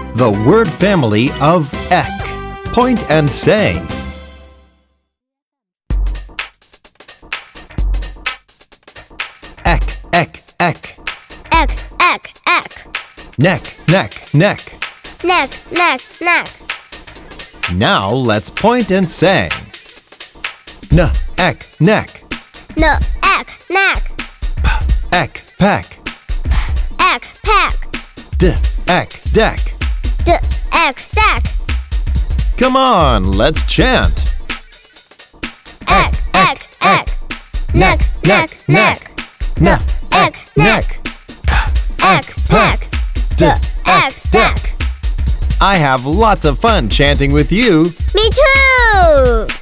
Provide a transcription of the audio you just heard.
The word family of ek. Point and say. Ek, ek, ek. Ek, ek, ek. Neck, neck, neck. Neck, neck, neck. Now let's point and say. N, ek, neck. No, ek, neck. Ek, pack. Ek, pack. D, ek, deck. D, ek, deck. Come on, let's chant. Ek, ek, ek. Neck, neck, neck. N, Ek, neck. ek, pack. D, ek, deck. I have lots of fun chanting with you. Me too!